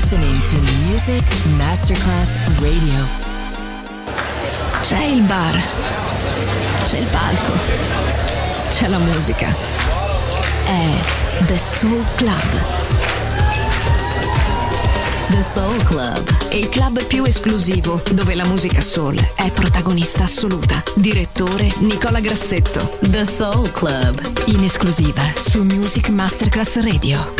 listening to Music Masterclass Radio. C'è il bar, c'è il palco, c'è la musica. È The Soul Club. The Soul Club, Il club più esclusivo dove la musica soul è protagonista assoluta. Direttore Nicola Grassetto. The Soul Club, In esclusiva su Music Masterclass Radio.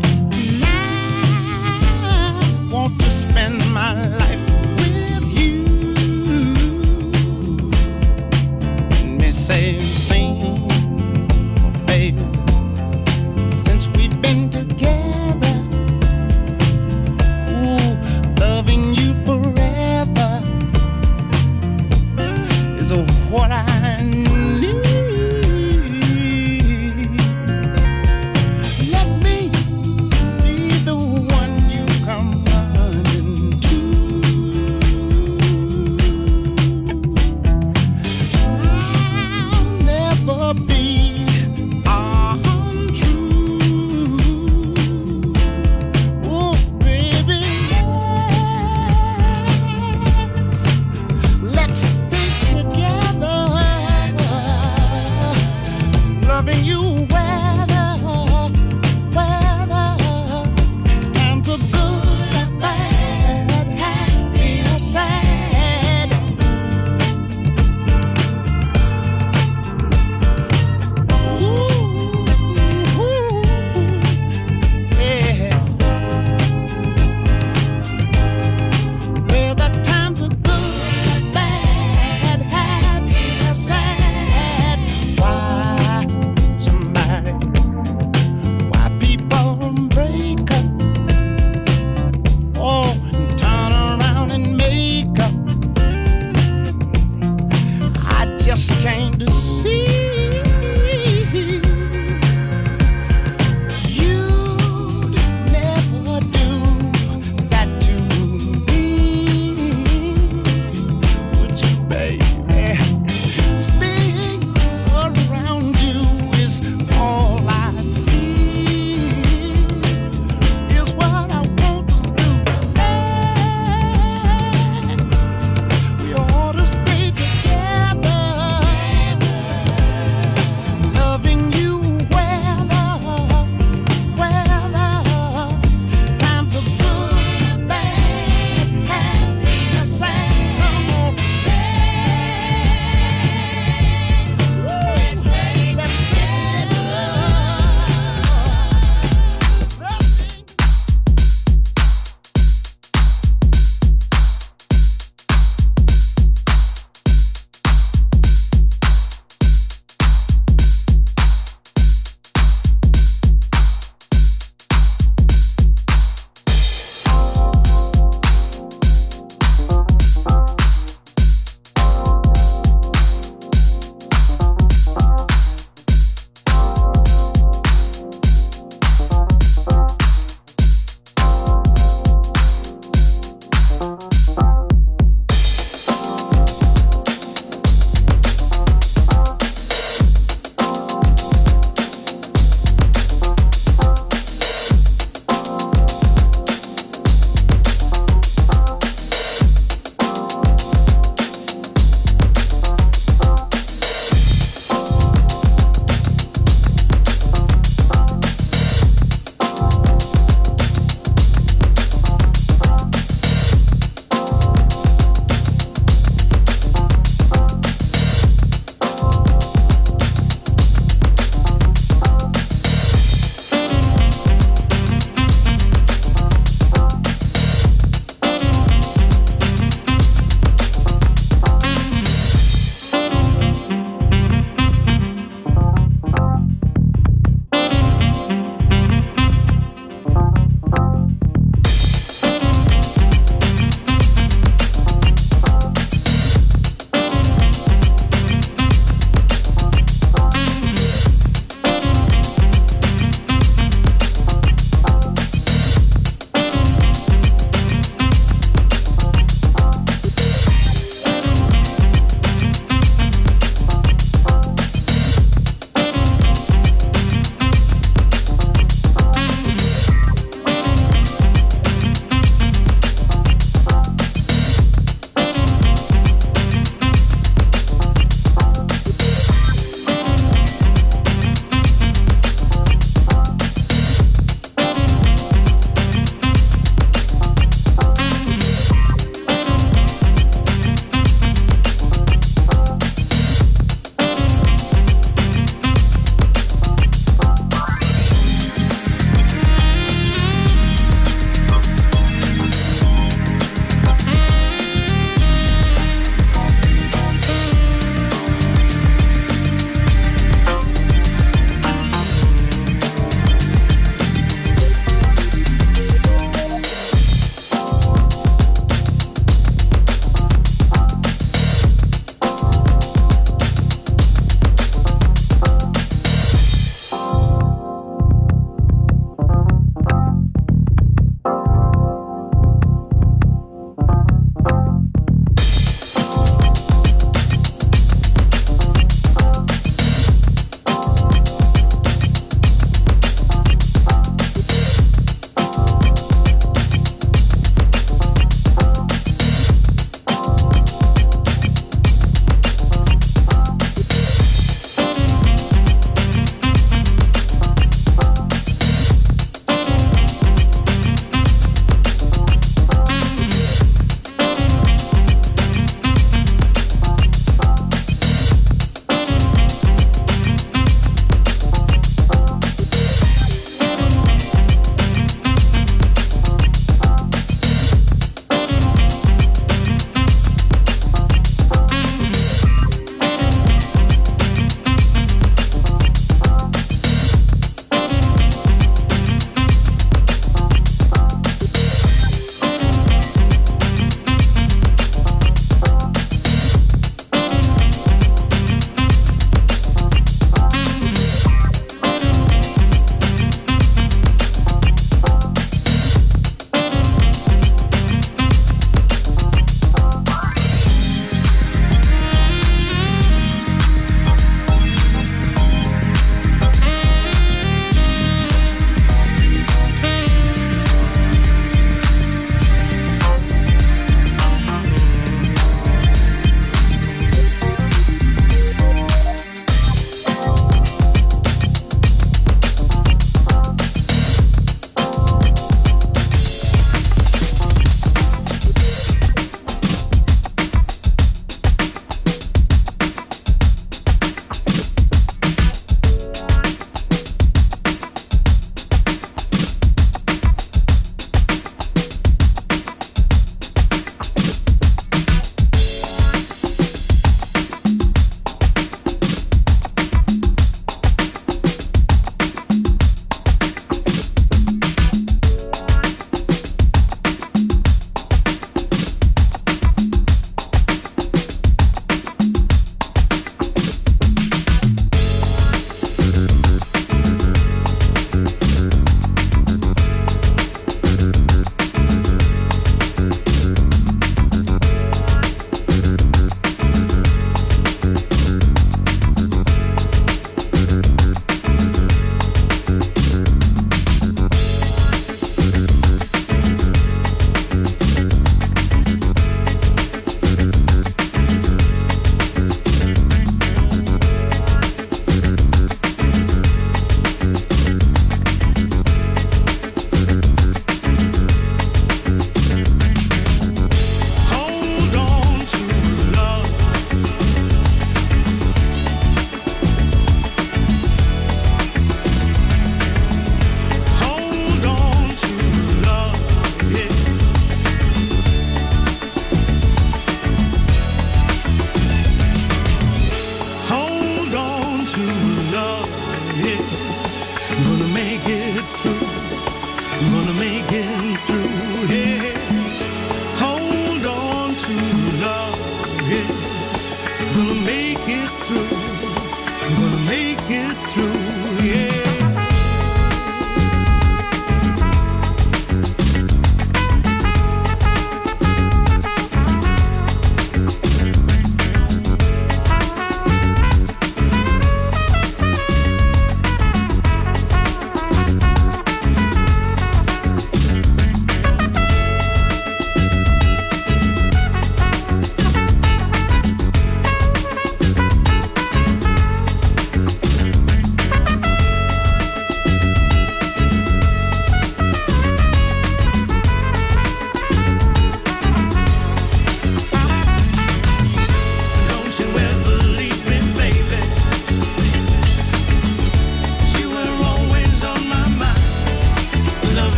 Want to spend my life with you.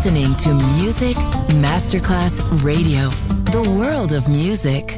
listening to Music Masterclass Radio, the world of music.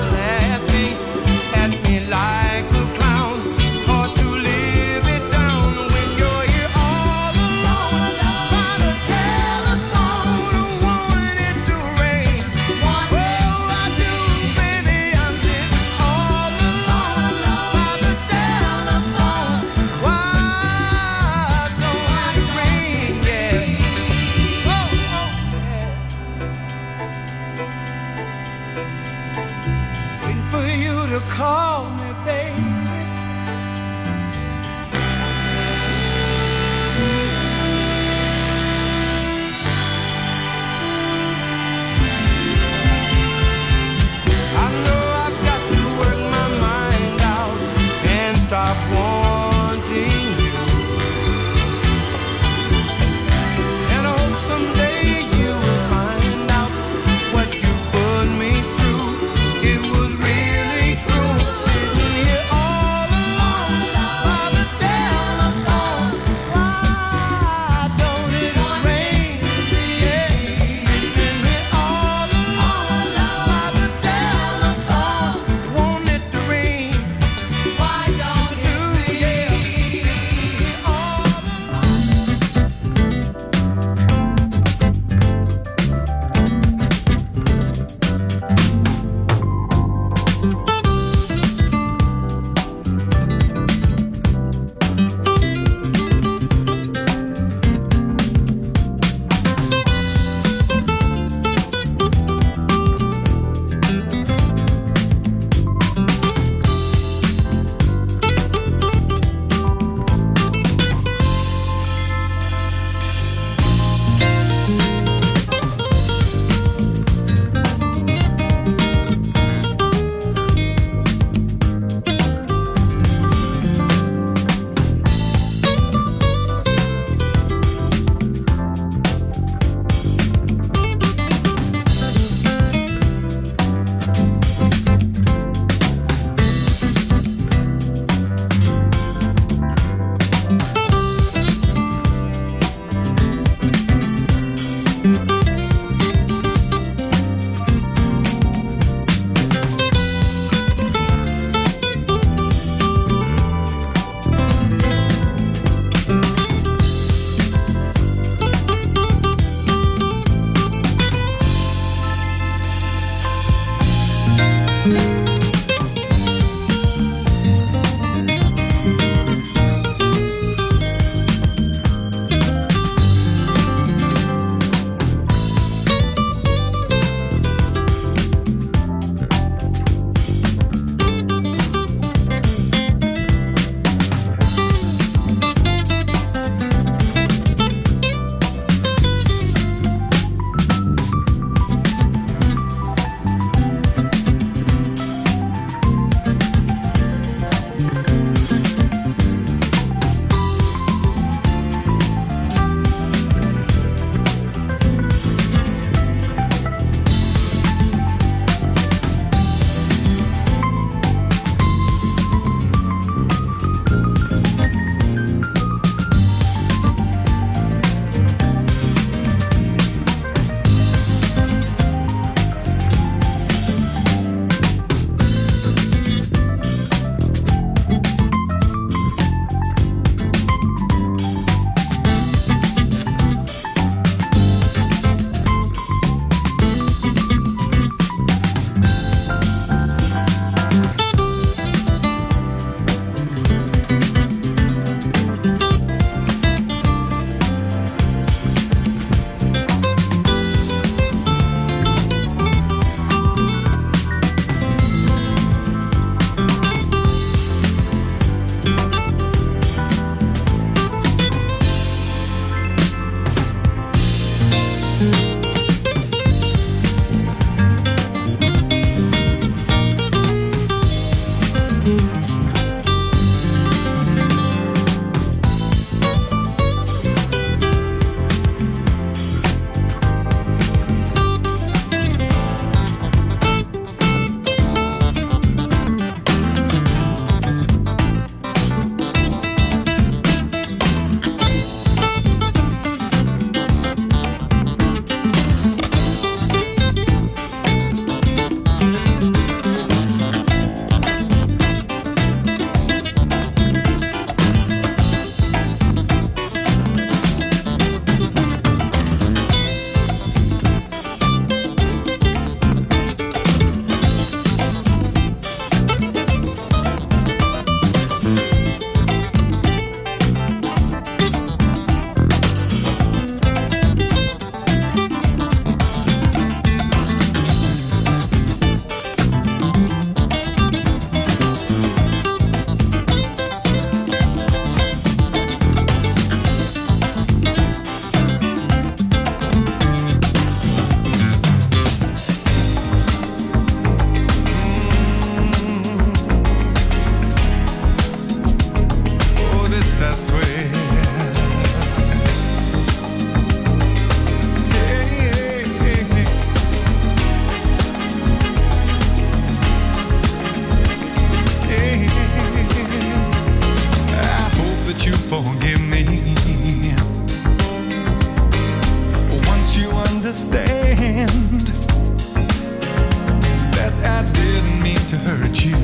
Like a clown, hard to live it down. forgive me. Once you understand that I didn't mean to hurt you,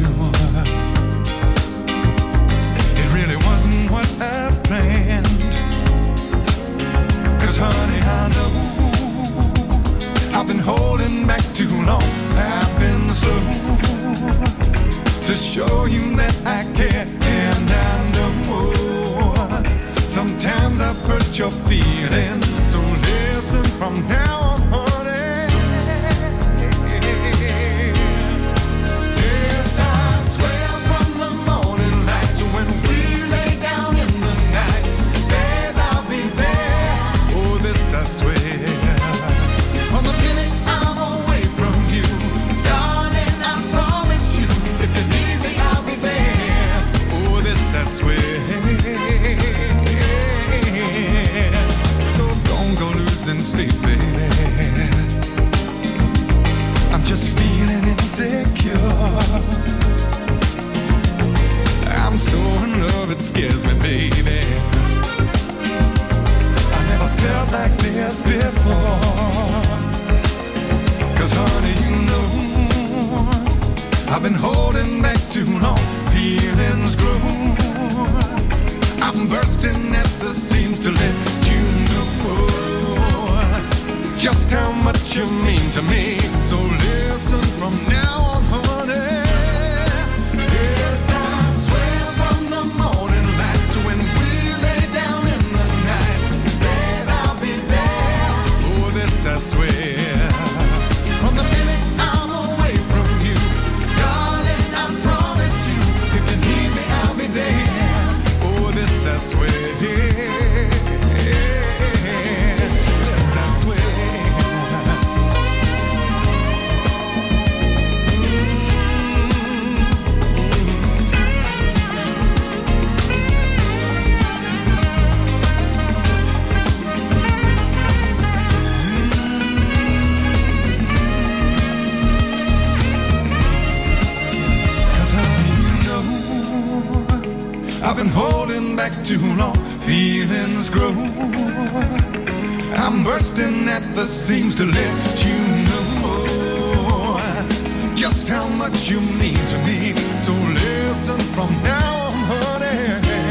it really wasn't what I planned. 'Cause honey, I know I've been holding back too long. I've been slow to show you that I care, and I know sometimes I've hurt your feelings. So listen from now on, honey. Yes, I swear from the morning light to when we lay down in the night, babe, I'll be there. Oh, this I swear. From the minute I'm away from you, darling, I promise you, if you need me, I'll be there. Oh, this I swear. So don't go losing sleep, baby. I'm just feeling insecure. I'm so in love, it scares me, baby. I never felt like this before. 'Cause honey, you know I've been holding back too long. Feelings grow. I'm bursting at the seams to let you know just how much you mean to me. So listen from now on, honey. Yes, I swear from the morning light to when we lay down in the night, babe, I'll be there. Oh, this I swear. From the minute I'm away from you, darling, I promise you, if you need me, I'll be there. Oh, this I swear. This I swear. I've been holding back too long, feelings grow. I'm bursting at the seams to let you know just how much you mean to me. So listen from now on, honey.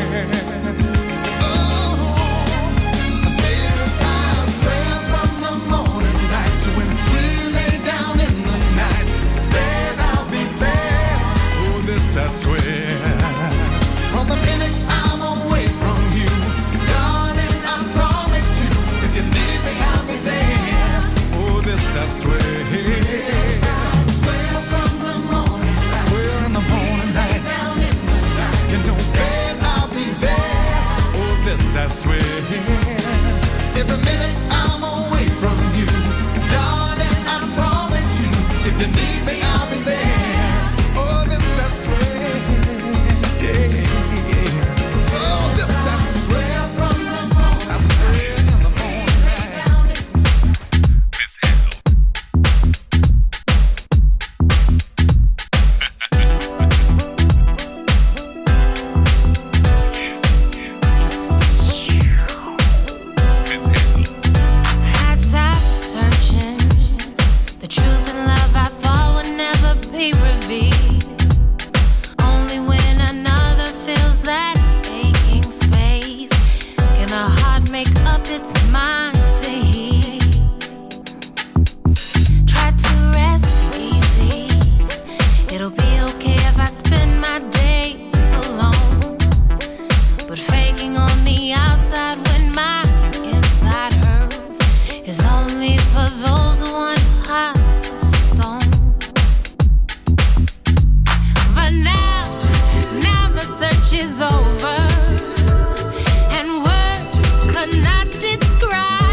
Oh, this I swear from the morning light to when we lay down in the night, babe, I'll be there. Oh, this I swear. From the minute I'm away from you, darling, I promise you, if you need me, I'll be there. Oh, this I swear. Yes, I swear from the morning light. I swear in the morning light. Down in the night. You know, babe, I'll be there. Oh, this I swear. Every minute I'm away from you, darling, I promise you, if you need me, I'll be there. Oh, this I swear. Yeah. Over and words could not describe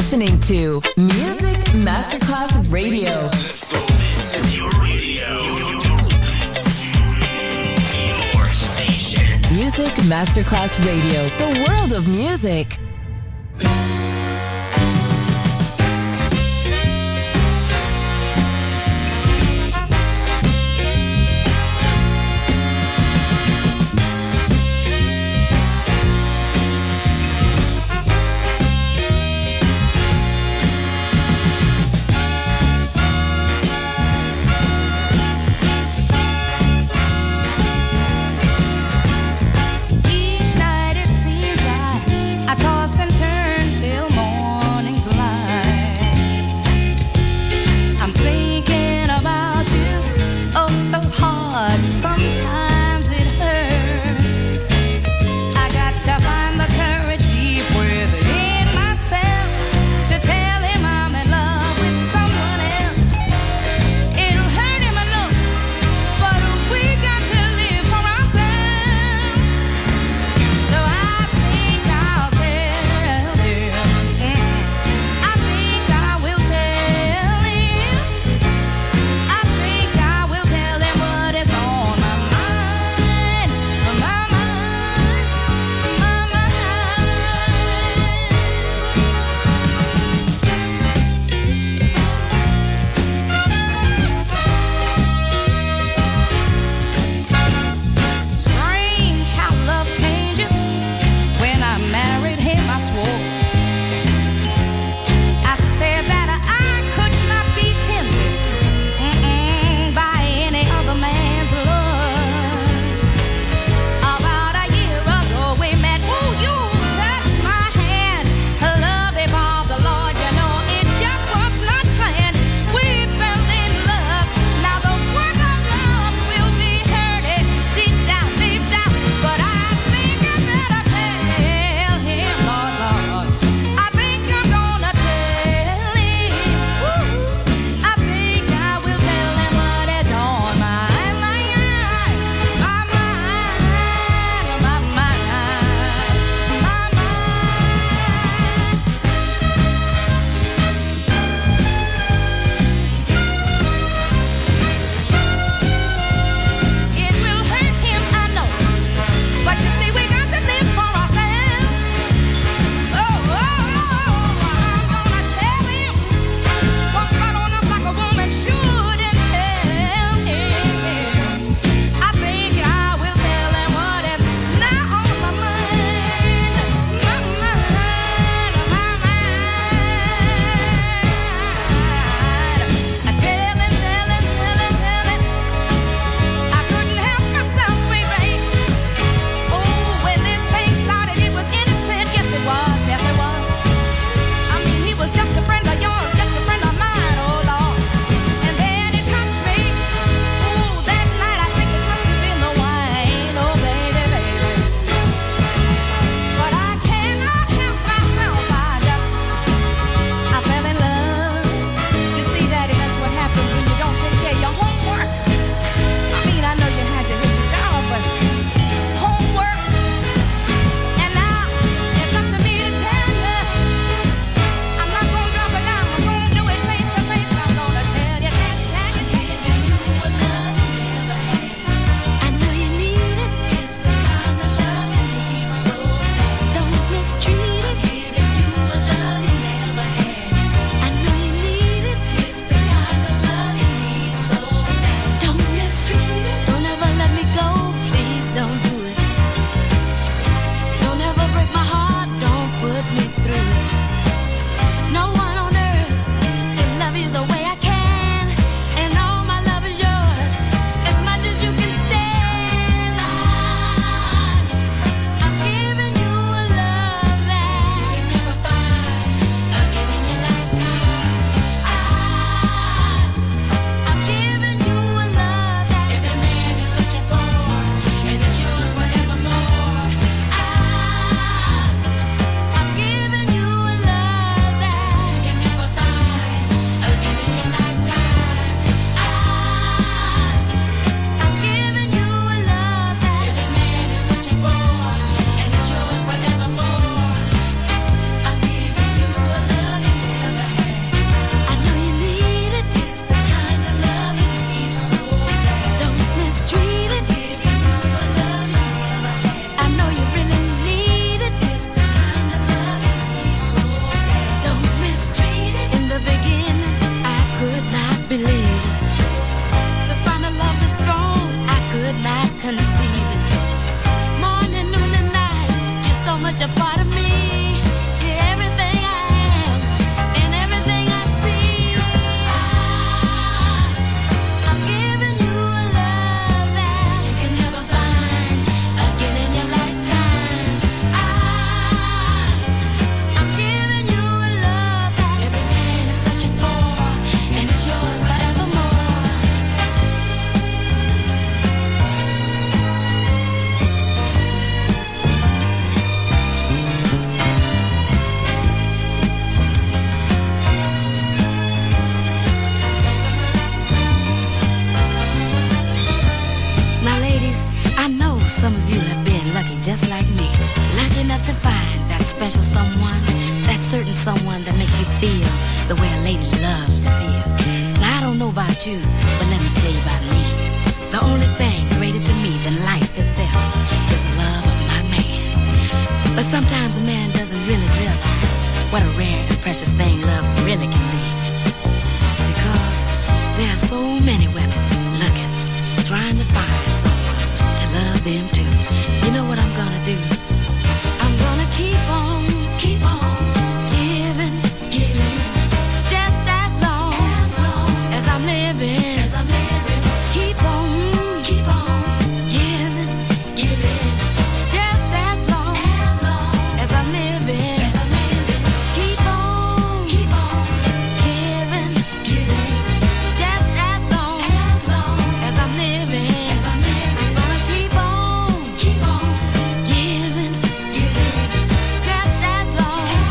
listening to Music Masterclass Radio. Let's go. This is your radio. Your station. Music Masterclass Radio. The world of music. Each night it seems like I toss dating someone that makes you feel the way a lady loves to feel. Now I don't know about you, but let me tell you about me. The only thing greater to me than life itself is the love of my man. But sometimes a man doesn't really realize what a rare and precious thing love really can be. Because there are so many women looking, trying to find someone to love them too. You know what I'm gonna do? I'm gonna keep on giving, just as long as I'm living. Keep on giving, just as long as I'm living. Keep on giving, just as long as I'm living. I'm gonna keep on giving, just as long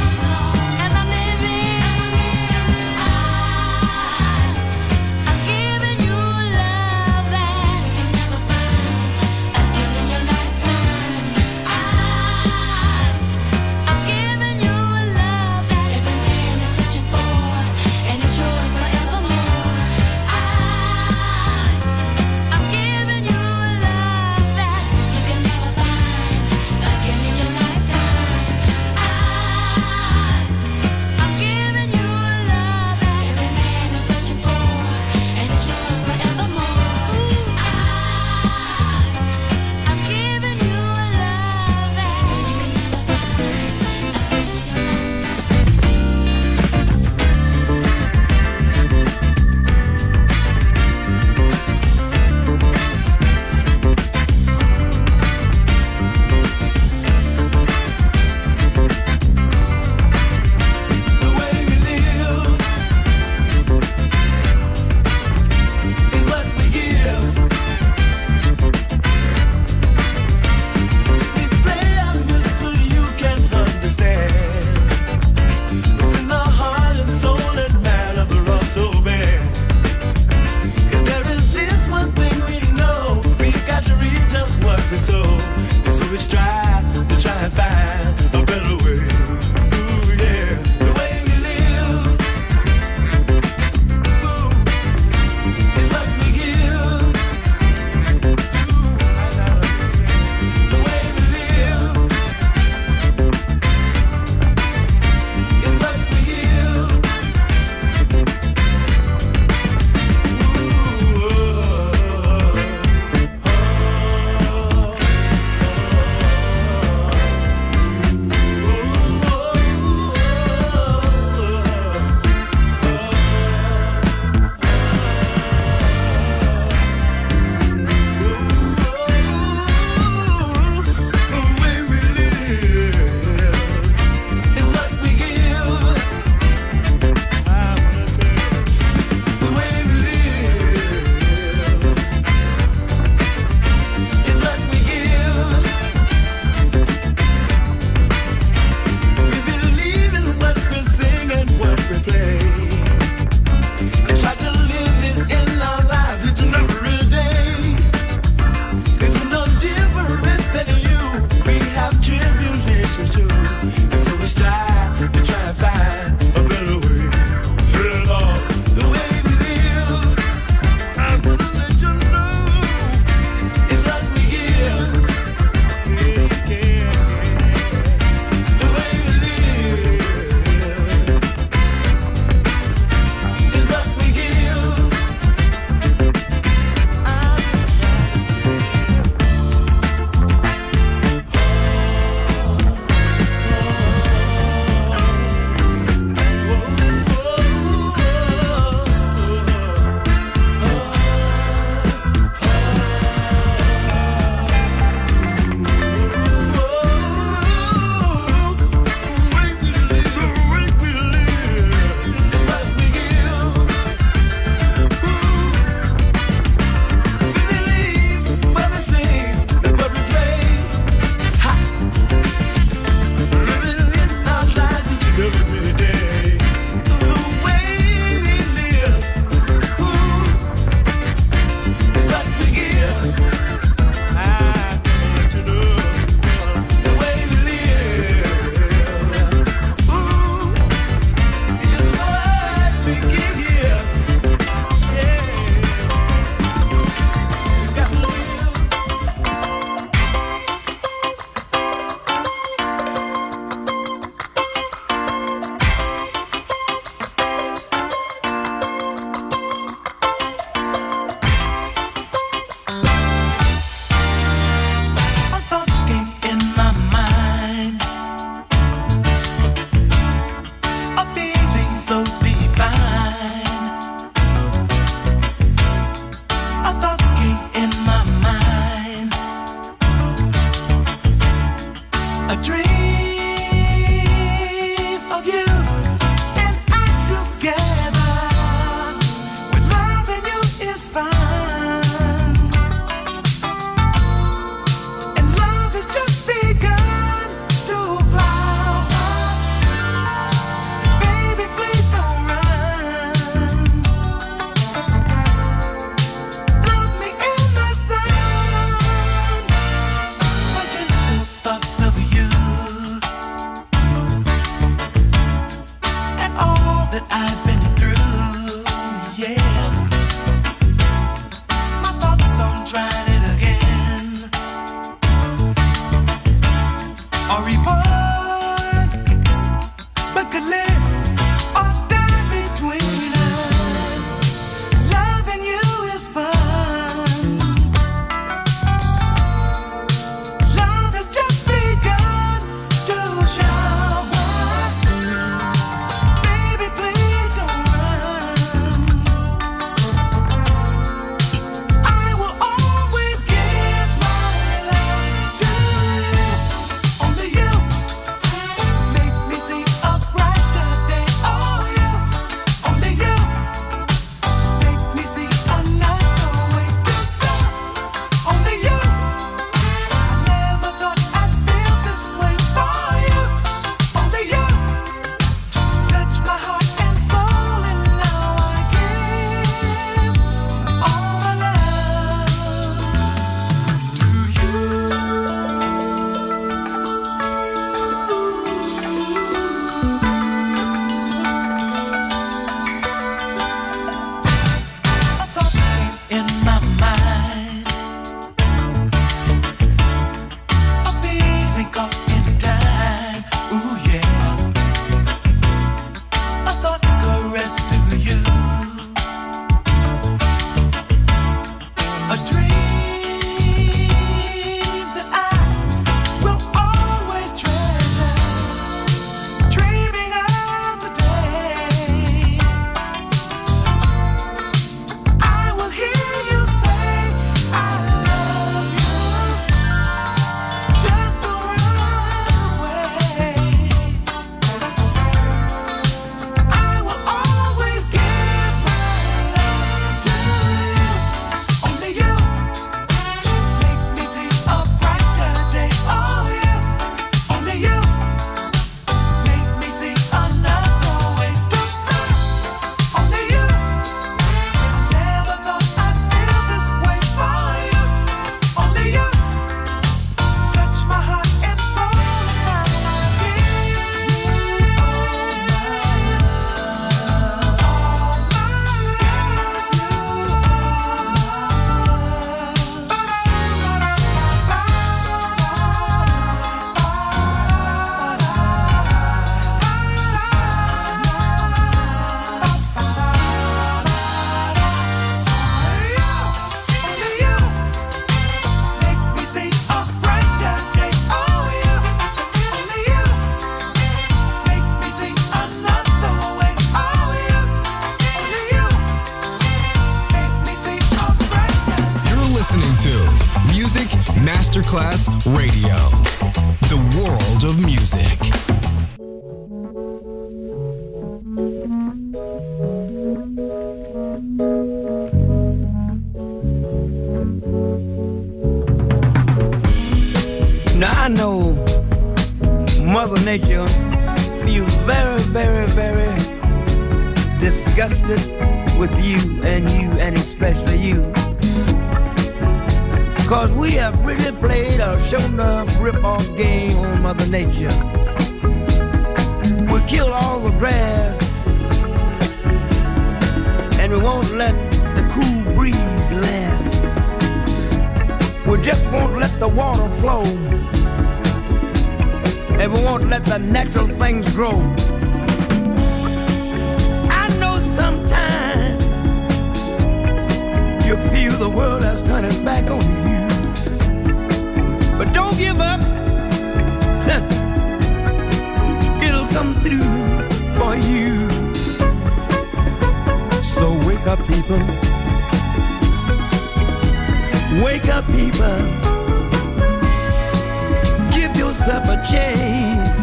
could live or die between us. Loving you is fun. Love has just begun to shower. Baby, please don't run. I will always give my love to you. Only you make me see a brighter day. Oh, you, only you make me see another way to go. Only you. I never thought I'd feel this way for you. Only you touch my heart and soul, and now I give all my love to you. A thought came in my mind, a feeling caught in time. Ooh yeah, a thought caressed to you, a dream that I will always treasure. Dreaming of the day I will hear you say I love you. Just don't run away. I will always give my love to you. Only you make me see a brighter day. Oh, you, only you make me see another way to go. Only you. Never thought I'd feel this way for you. Only you touch my heart and soul, and now I give Only you make me see a brighter day. Oh, you, only you make me see another way. Oh, you, only you make me see a brighter. You're listening to Music Masterclass Radio, the world of music. Now I know Mother Nature feels very, very, very disgusted with you, and especially you. Cause we have really played a show enough rip-off game on Mother Nature. We kill all the grass, and we won't let the cool breeze last. We just won't let the water flow, and we won't let the natural things grow. I know sometimes you feel the world has turned its back on you, but don't give up. It'll come through for you. So wake up, people. Wake up, people. Give yourself a chance.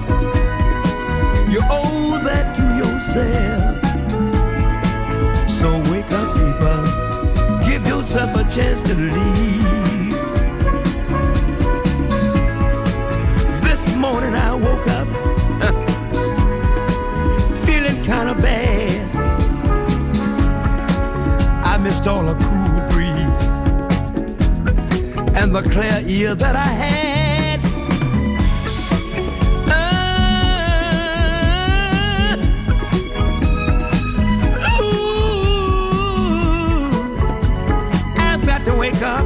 You owe that to yourself. So wake up, people. Give yourself a chance to leave. This morning I woke up feeling kind of bad. I missed all the cool breeze and the clear ear that I had. I've got to wake up.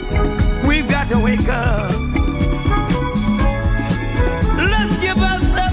We've got to wake up. Let's give ourselves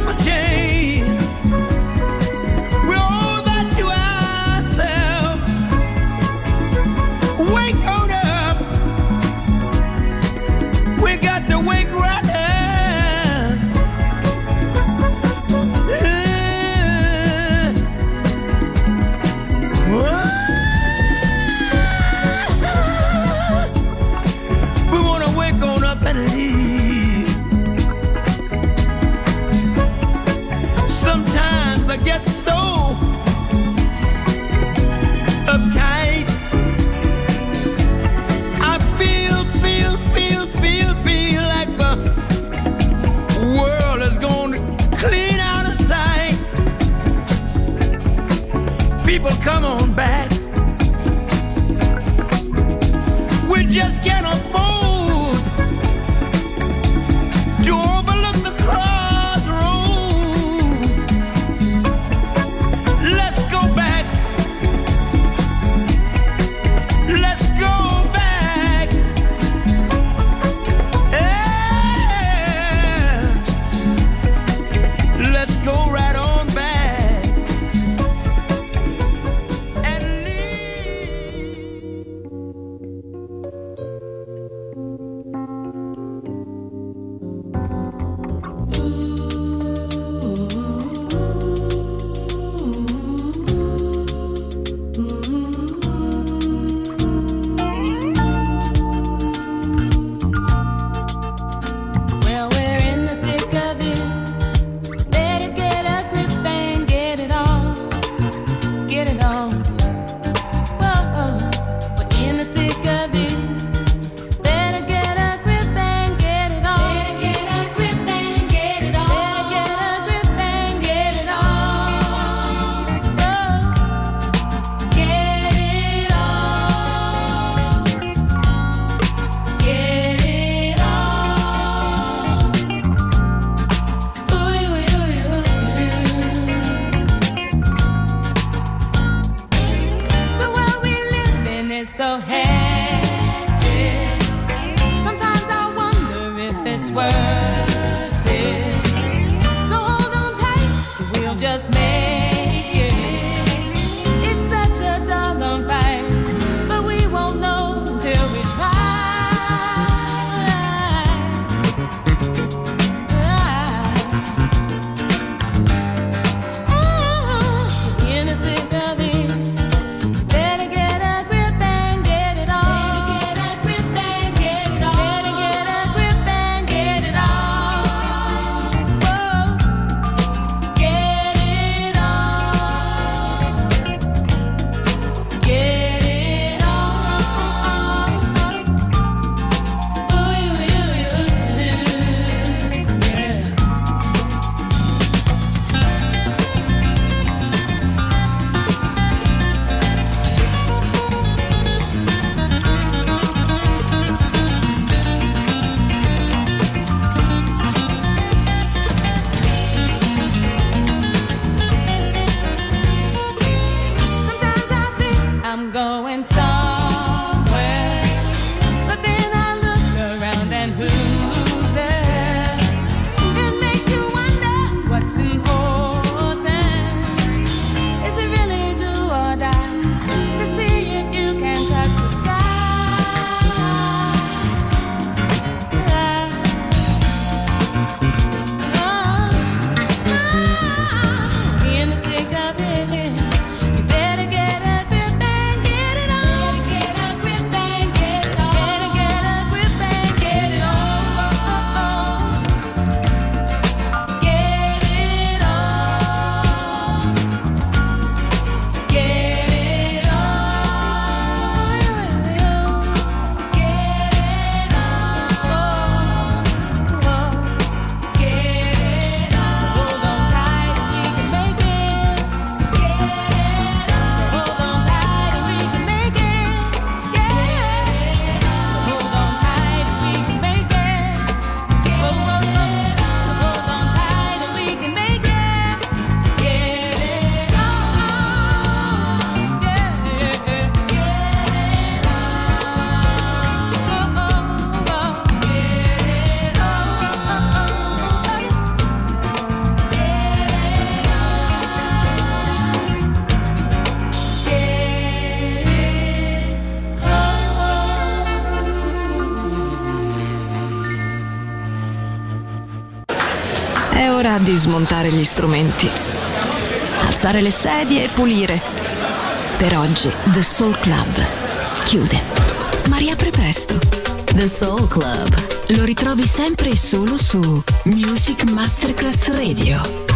come on back. We just can't afford to overlook the crossroads. Let's go back. Let's go back. Yeah. Let's go right on back and Well, we're in the thick of it. Better get a grip and get it on. Get it on. Whoa, we're in the thick of it. Better get a grip and get it on. Better get a grip and get it on. Better get a grip and get it on. Whoa, get it on. Get it on. Ooh, ooh, ooh, ooh. The world we live in is so hectic. Sometimes I wonder if it's worth it. So hold on tight, we'll just make it. It's such a doggone fight, but we won't know until we try. In the thick of it, better get a grip and get it on. Better get a grip and get it on. Better get a grip and get it on. Whoa, get it on. Get it on. Ooh, ooh, ooh, yeah. Sometimes I think I'm going somewhere, but then I look around and who's there? It makes you wonder what's important. Is it really do or die to see if you can touch the sky? In the thick of it, you better get a grip and get it on. Better get a grip and get it on. Better get a grip and get it on. Get it on. Get it on. Get it on. Get it on. So hold on tight and we can make it. Get it on. So hold on tight and we can make it. Get it on. So hold on tight and we can make it. Whoa, whoa, whoa. So hold on tight and we can make it. Get it on. Yeah, yeah, yeah. Get it on. Oh, oh, oh. Get it on. È ora di smontare gli strumenti, alzare le sedie e pulire. Per oggi The Soul Club chiude, ma riapre presto. The Soul Club lo ritrovi sempre e solo su Music Masterclass Radio.